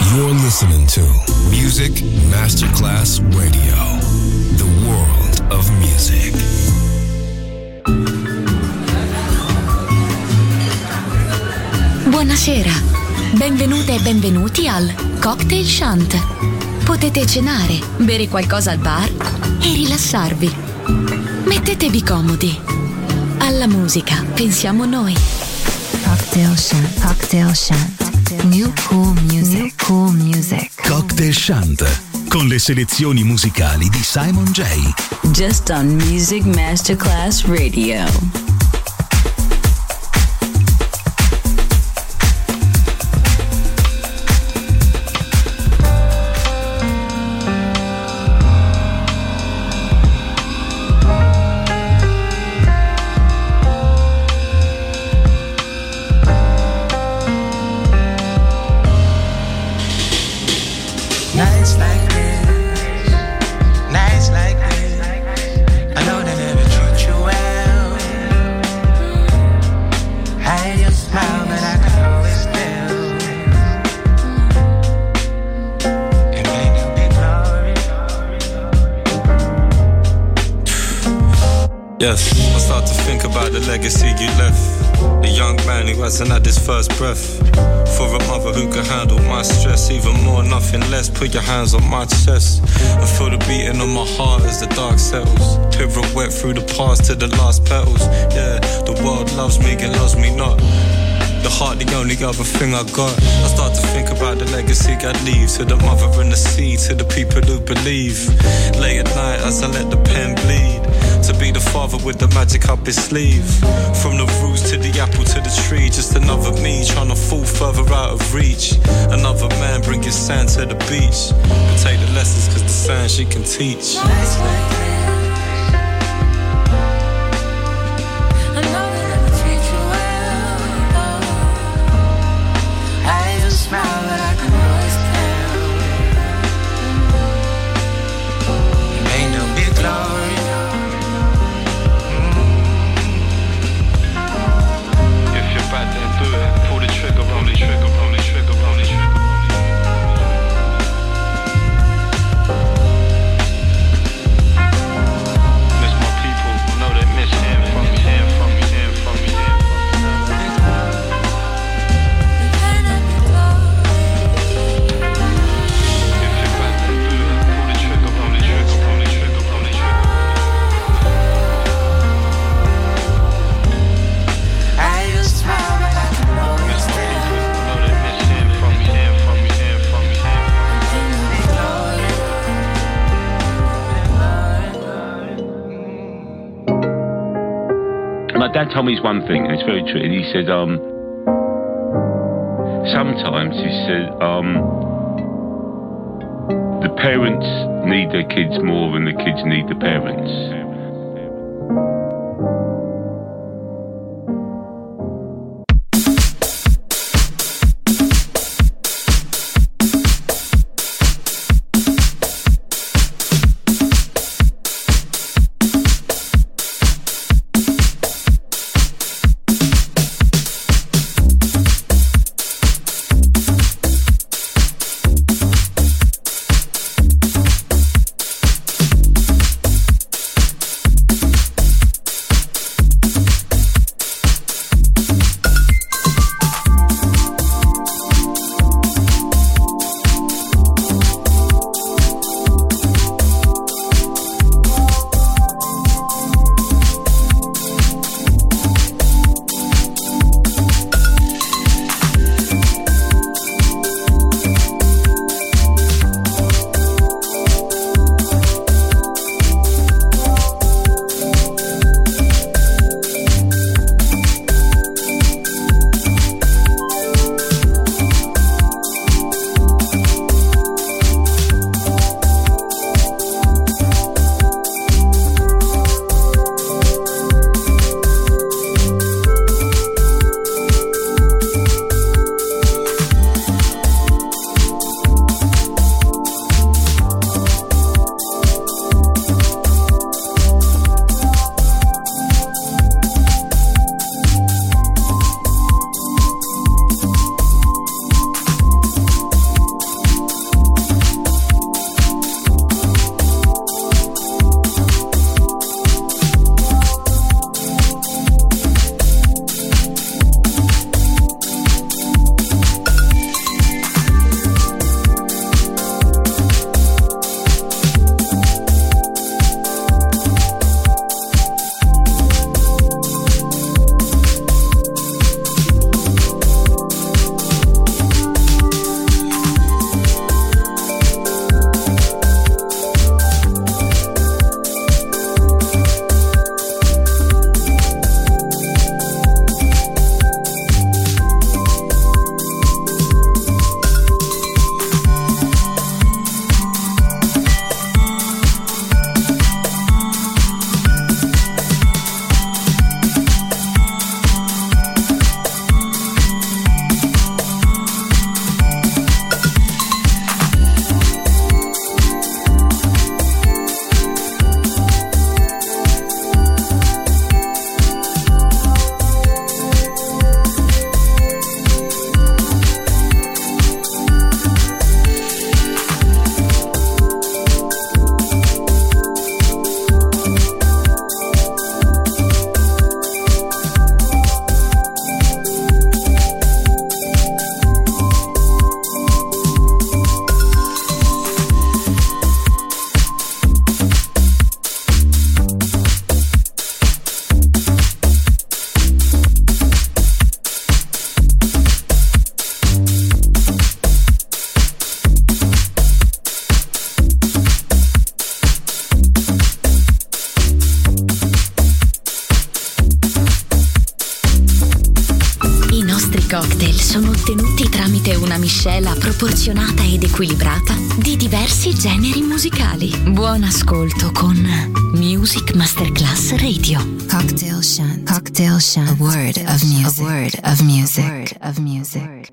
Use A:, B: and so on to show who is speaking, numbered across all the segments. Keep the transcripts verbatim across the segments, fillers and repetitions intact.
A: You're listening to Music Masterclass Radio, the world of music.
B: Buonasera, benvenute e benvenuti al Cocktail Shant. Potete cenare, bere qualcosa al bar e rilassarvi. Mettetevi comodi. Alla musica pensiamo noi.
C: Cocktail Shant, Cocktail Shant. New cool music, New cool music.
D: Cocktail Shant, con le selezioni musicali di Simon J.
E: Just on Music Masterclass Radio.
F: Yes, I start to think about the legacy you left. A young man who hasn't had his first breath. For a mother who can handle my stress. Even more, nothing less. Put your hands on my chest and feel the beating of my heart as the dark settles. Pirouette through the past to the last petals. Yeah, the world loves me and loves me not. The heart, the only other thing I got. I start to think about the legacy I'd leave. To the mother and the sea, to the people who believe. Late at night as I let the pen bleed. To be the father with the magic up his sleeve. From the roots to the apple to the tree. Just another me trying to fall further out of reach. Another man bringing sand to the beach. But take the lessons cause the sand she can teach.
G: Dad told me this one thing, and it's very true. He said, um, sometimes he said, um, the parents need their kids more than the kids need the parents.
B: una miscela proporzionata ed equilibrata di diversi generi musicali. Buon ascolto con Music Masterclass Radio.
C: Cocktail Shant. Cocktail Shant. A word of music. A word of music. A word of music.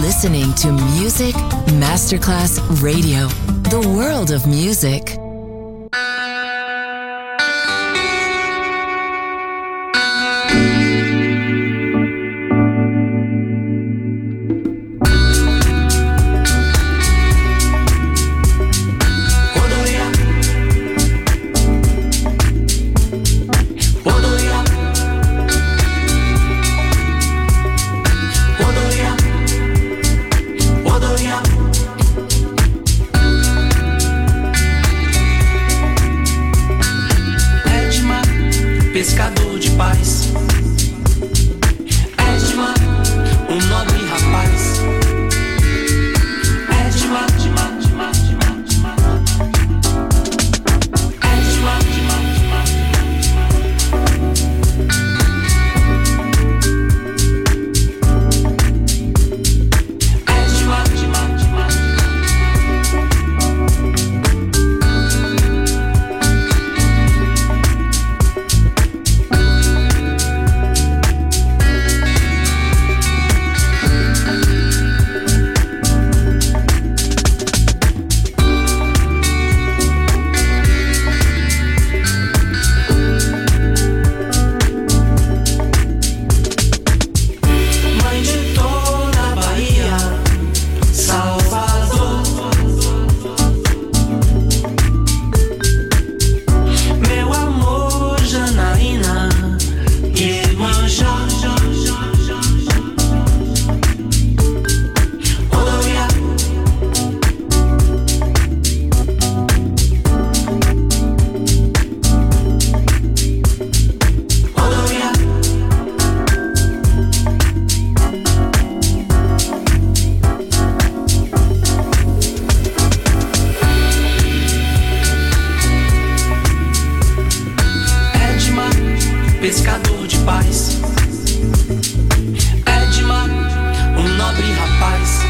H: listening to Music Masterclass Radio, the world of music.
I: Pescador de paz, Edmar, um nobre rapaz. Edmar, Edmar, Edmar, Edmar, Edmar, Edmar, pescador de paz. Edmar, um nobre rapaz.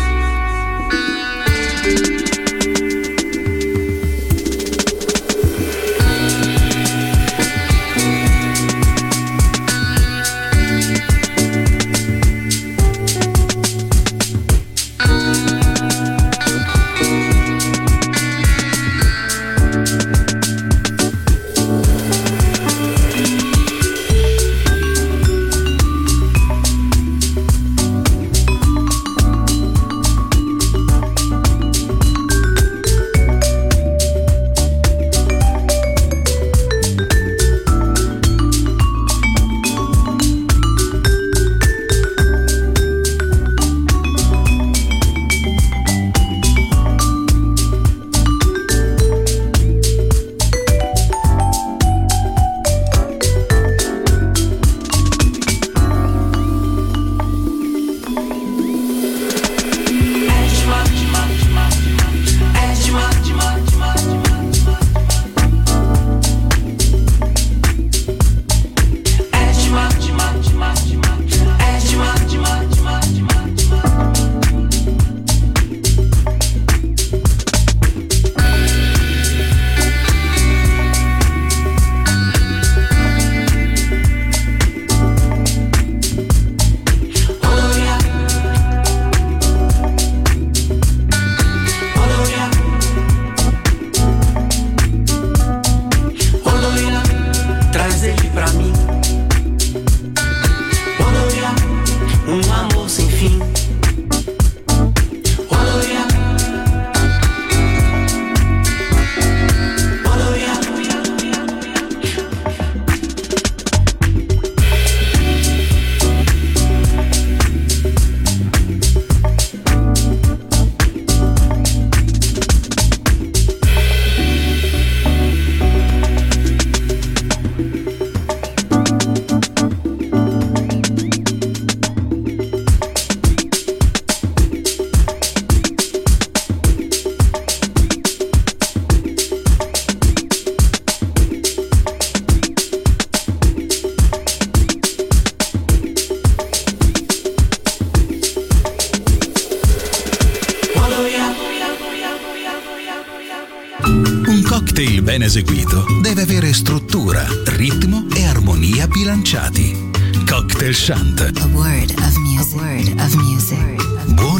D: Ben eseguito deve avere struttura, ritmo e armonia bilanciati. Cocktail Chant.
C: A word of music. A word of music.
D: Buon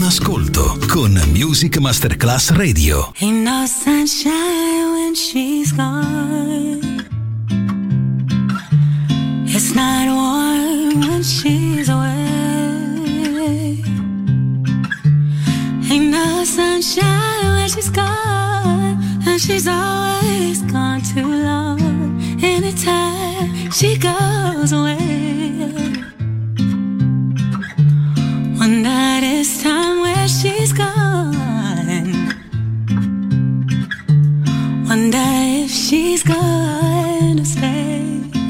D: ascolto con Music Masterclass Radio.
J: Ain't no sunshine when she's gone. It's not warm when she's away. Ain't no sunshine when she's gone, and she's always gone too long. Anytime she goes away, one night is time where she's gone. Wonder if she's gonna stay.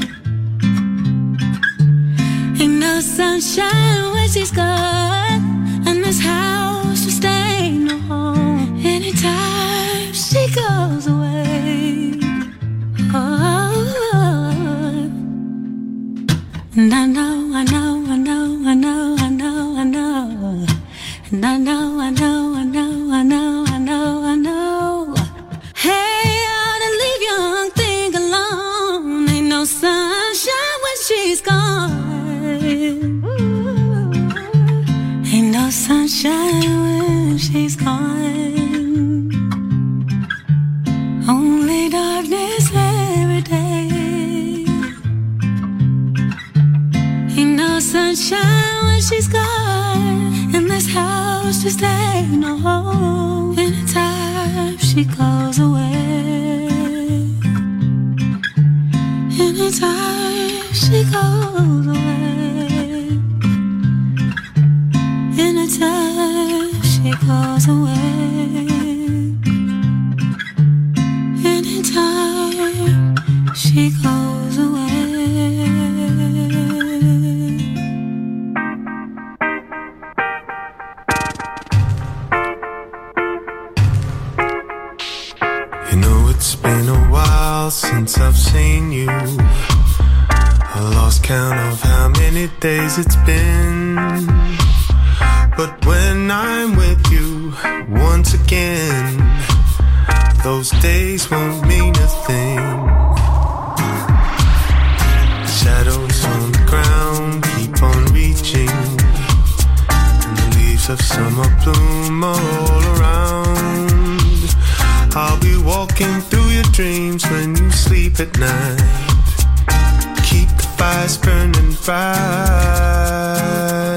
J: Ain't no sunshine when she's gone, and this house will stay no home. Anytime she goes away, oh, and I know, I know, I know, I know, I know, I know, and I know, I know, I know, I know, I know, I know. Hey, I ought to leave young thing alone. Ain't no sunshine when she's gone. Ain't no sunshine when she's gone. Only darkness every day. Ain't no sunshine when she's gone. In this house just ain't no home. Anytime she goes away. Anytime she goes away. Anytime she goes away. Anytime she goes away.
K: You know it's been a while since I've seen you. I lost count of how many days it's been. But when I'm with you once again, those days won't mean a thing. Shadows on the ground keep on reaching, and the leaves of summer bloom all around. I'll be walking through your dreams when you sleep at night. Keep the fires burning bright.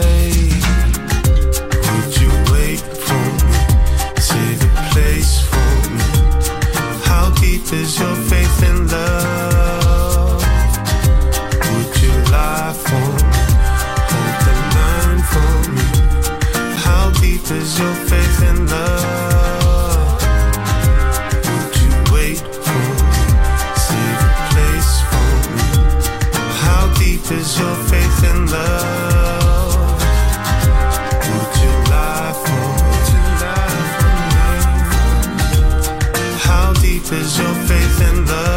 K: Would you wait for me? Save a place for me. How deep is your faith in love? Would you lie for me? Hold the line for me. How deep is your faith in love? Would you wait for me? Save a place for me. How deep is your faith in love? Would you lie for me? How deep is your faith in love?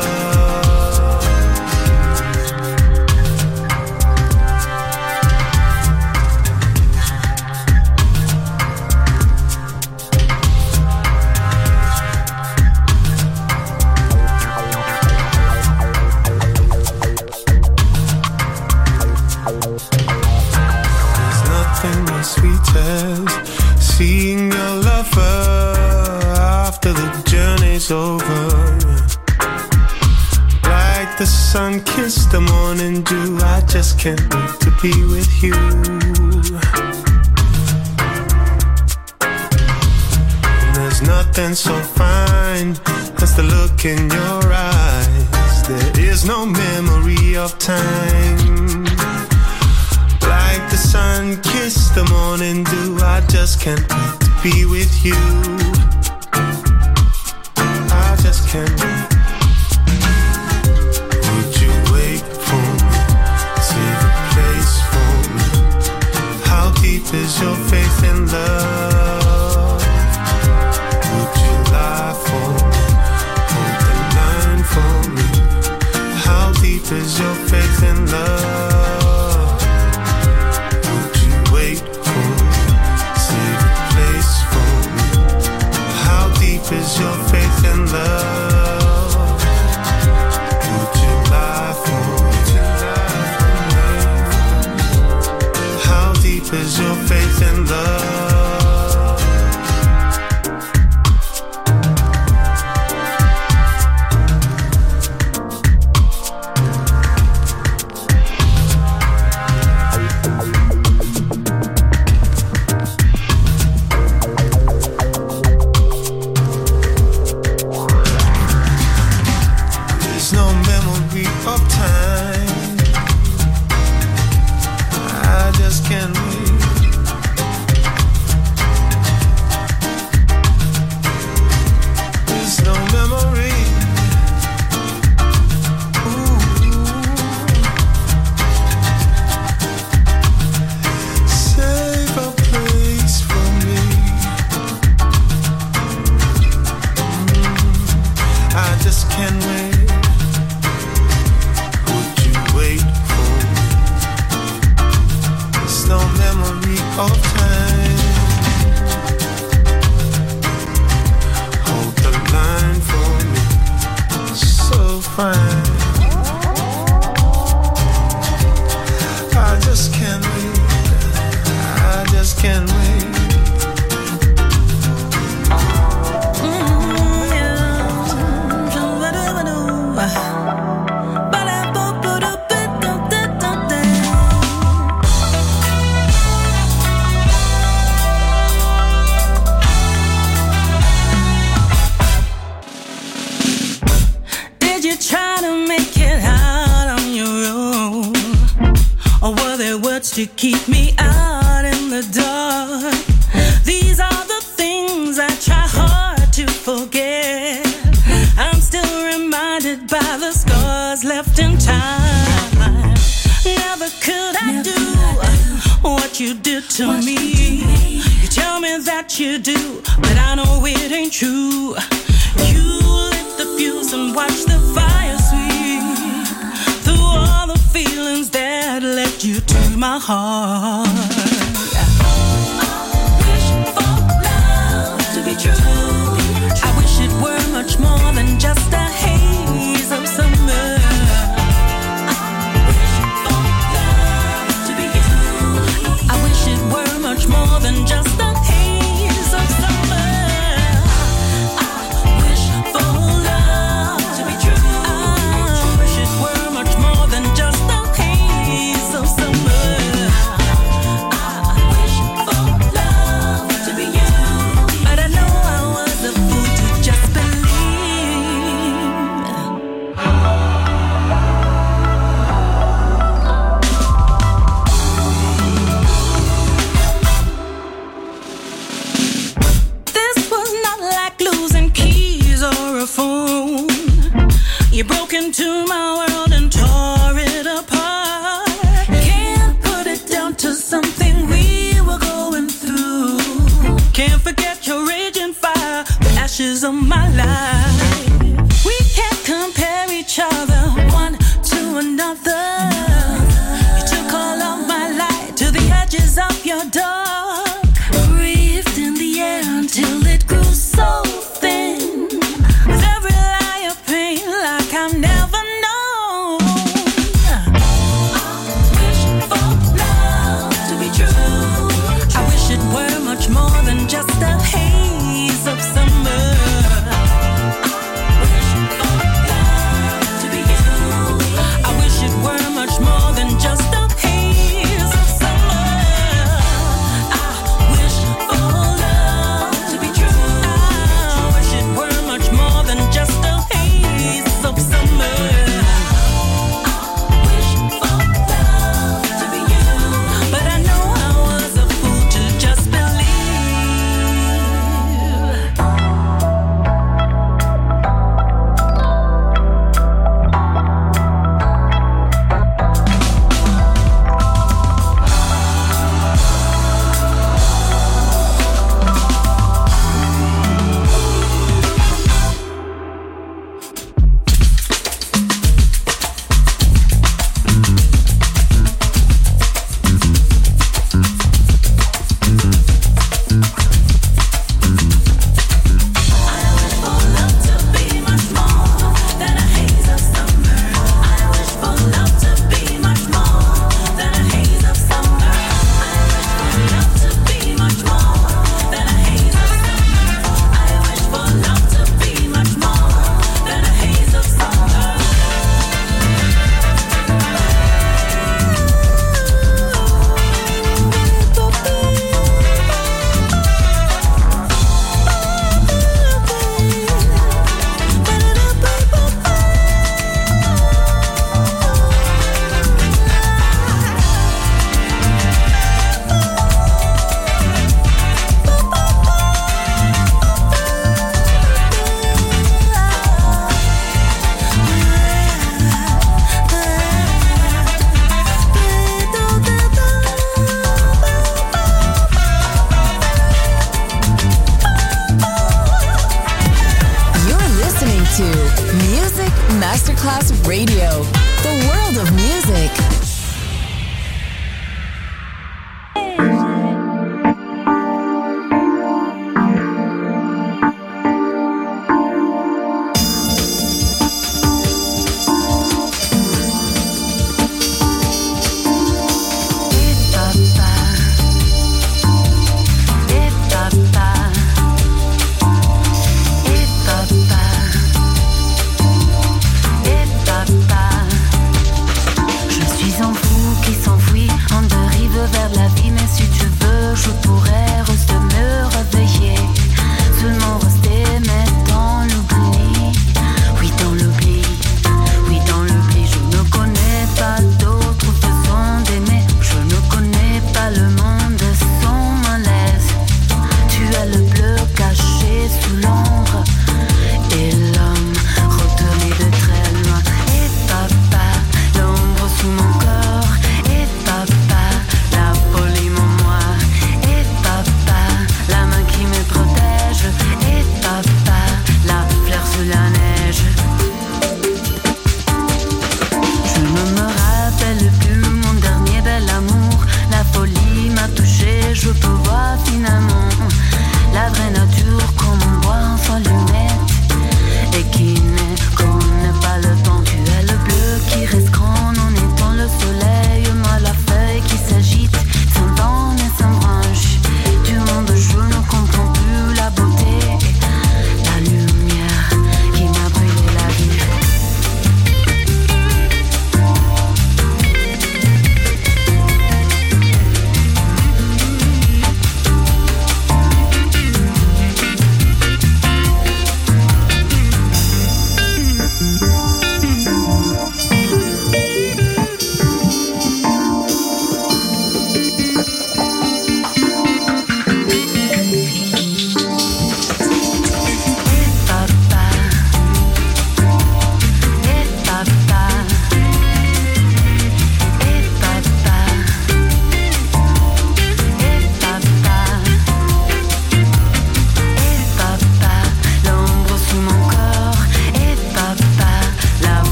K: There's nothing as sweet as seeing your lover after the journey's over. Like the sun kissed the morning dew, I just can't wait to be with you. And there's nothing so fine as the look in your eyes. There is no memory of time. Like the sun kissed the morning dew, I just can't wait to be with you. I just can't wait. Would you wait for me? Save a place for me. How deep is your faith in love? Would you lie for me? Hold the line for me. How deep is your faith in love? Would you wait for me? Save a place for me. How deep is your faith in love? Would you lie for me? How deep is your faith in love? of time. Hold the line for me, so fine. I just can't wait, I just can't wait.
J: To keep me out in the dark. These are the things I try hard to forget. I'm still reminded by the scars left in time. Never could I do what you did to me. You tell me that you do, but I know it ain't true. You lit the fuse and watch the fire sweep through all the feelings that led you to my heart. I wish for love to be true. I wish it were much more than just a haze of summer. I wish for love to be you. I wish it were much more than just a haze of summer. I wish for love to be true. I wish it were much more than just a haze of summer. You broke into my world and tore it apart. Can't put it down to something we were going through. Can't forget your raging fire, the ashes of my life. We can't compare each other one to another. You took all of my light to the edges of your dark. Breathed in the air until it grew so thin. With every lie of pain, like I've never known. I wish for love to be true. I wish it were much more than just a haze of summer. I wish for love to be you. I wish it were much more than just a haze of summer.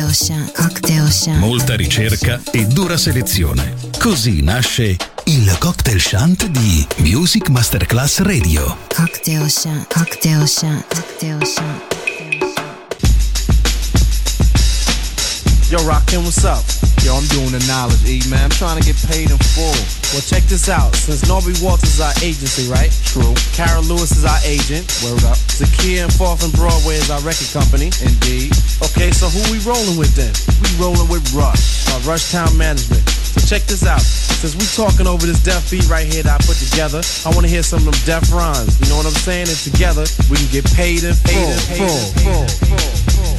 C: Cocktail Shant. Cocktail Shant.
D: Molta ricerca e dura selezione. Così nasce il Cocktail Shant di Music Masterclass Radio.
C: Cocktail Shant. Cocktail Shant. Cocktail Shant.
L: Yo, Rakim, what's up? Yo, I'm doing the knowledge, E, man. I'm trying to get paid in full. Well, check this out. Since Norby Walters is our agency, right? True. Kara Lewis is our agent. Word up. Zakia and Fourth and Broadway is our record company. Indeed. Okay, so who we rolling with then? We rolling with Rush, our Rush Town Management. So check this out. Since we talking over this deaf beat right here that I put together, I want to hear some of them deaf rhymes. You know what I'm saying? And together, we can get paid in full. Paid in full. Full. Full. Full.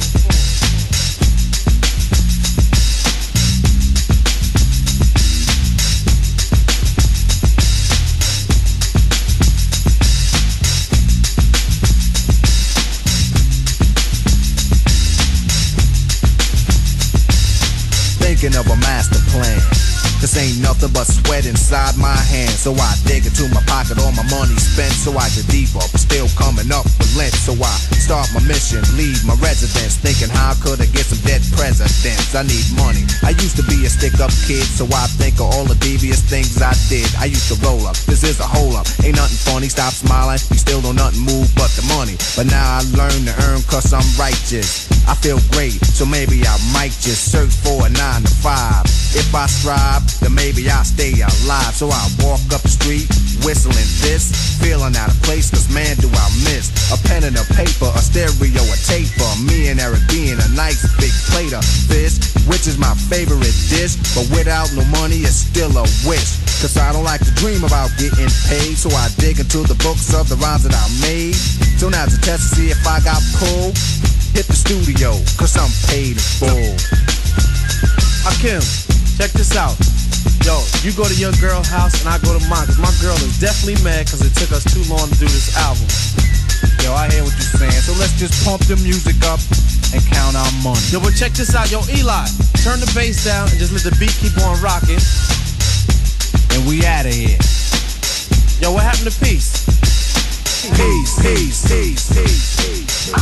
L: Thinking of a master plan. This ain't nothing but sweat inside my hands. So I dig into my pocket, all my money spent. So I get deeper, but still coming up with lint. So I start my mission, leave my residence, thinking how could I get some dead presidents? I need money. I used to be a stick-up kid, so I think of all the devious things I did. I used to roll up, this is a hole-up. Ain't nothing funny, stop smiling. You still don't nothing move but the money. But now I learn to earn cause I'm righteous. I feel great, so maybe I might just search for a nine to five. If I strive, then maybe I'll stay alive. So I walk up the street, whistling this, feeling out of place, cause man do I miss a pen and a paper, a stereo, a taper. Me and Eric being a nice big plate of fish, which is my favorite dish. But without no money, it's still a wish. Cause I don't like to dream about getting paid. So I dig into the books of the rhymes that I made. So now to test to see if I got pulled, hit the studio, cause I'm paid in full. Hakim, check this out. Yo, you go to your girl's house and I go to mine, cause my girl is definitely mad cause it took us too long to do this album. Yo, I hear what you're saying, so let's just pump the music up and count our money. Yo, but check this out, yo, Eli, turn the bass down and just let the beat keep on rocking. And we outta here. Yo, what happened to peace? Peace, peace, peace, peace, peace.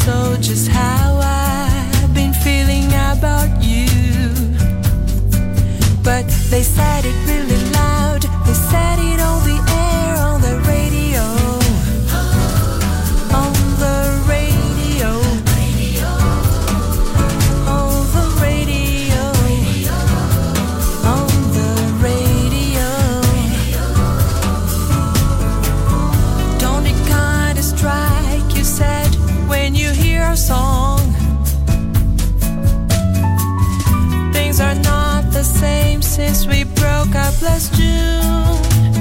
M: so just how I've been feeling about you. But they said it really loud, they said it on the air, on the radio, on the radio, on the radio, on the radio. Don't it kinda strike, you said, when you hear a song, things are not the same since we broke up last June.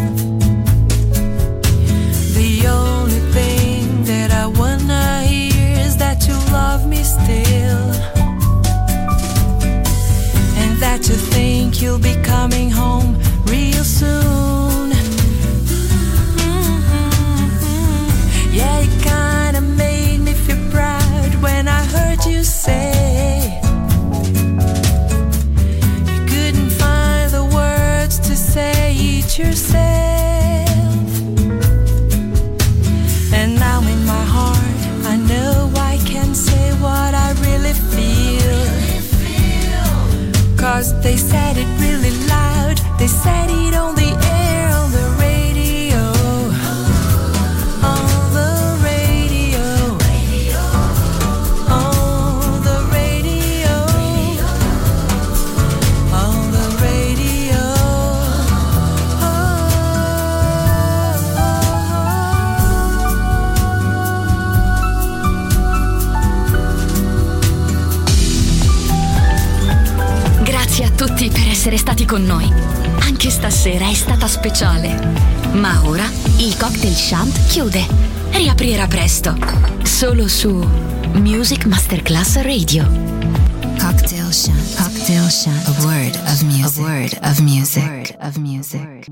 M: The only thing that I wanna hear is that you love me still, and that you think you'll be coming home real soon. Mm-hmm. Yeah, it kinda made me feel proud when I heard you say you couldn't find the words to say it yourself. And now in my heart I know I can say what I really feel. 'Cause they said it really loud, they said it on the air, on the radio, on the radio, on the radio, on the radio.
B: Grazie a tutti per essere stati con noi. Anche stasera è stata speciale. Ma ora il Cocktail Shant chiude. Riaprirà presto. Solo su Music Masterclass Radio.
C: Cocktail Shant. Cocktail Shant. A word of music. A word of music. A word of music.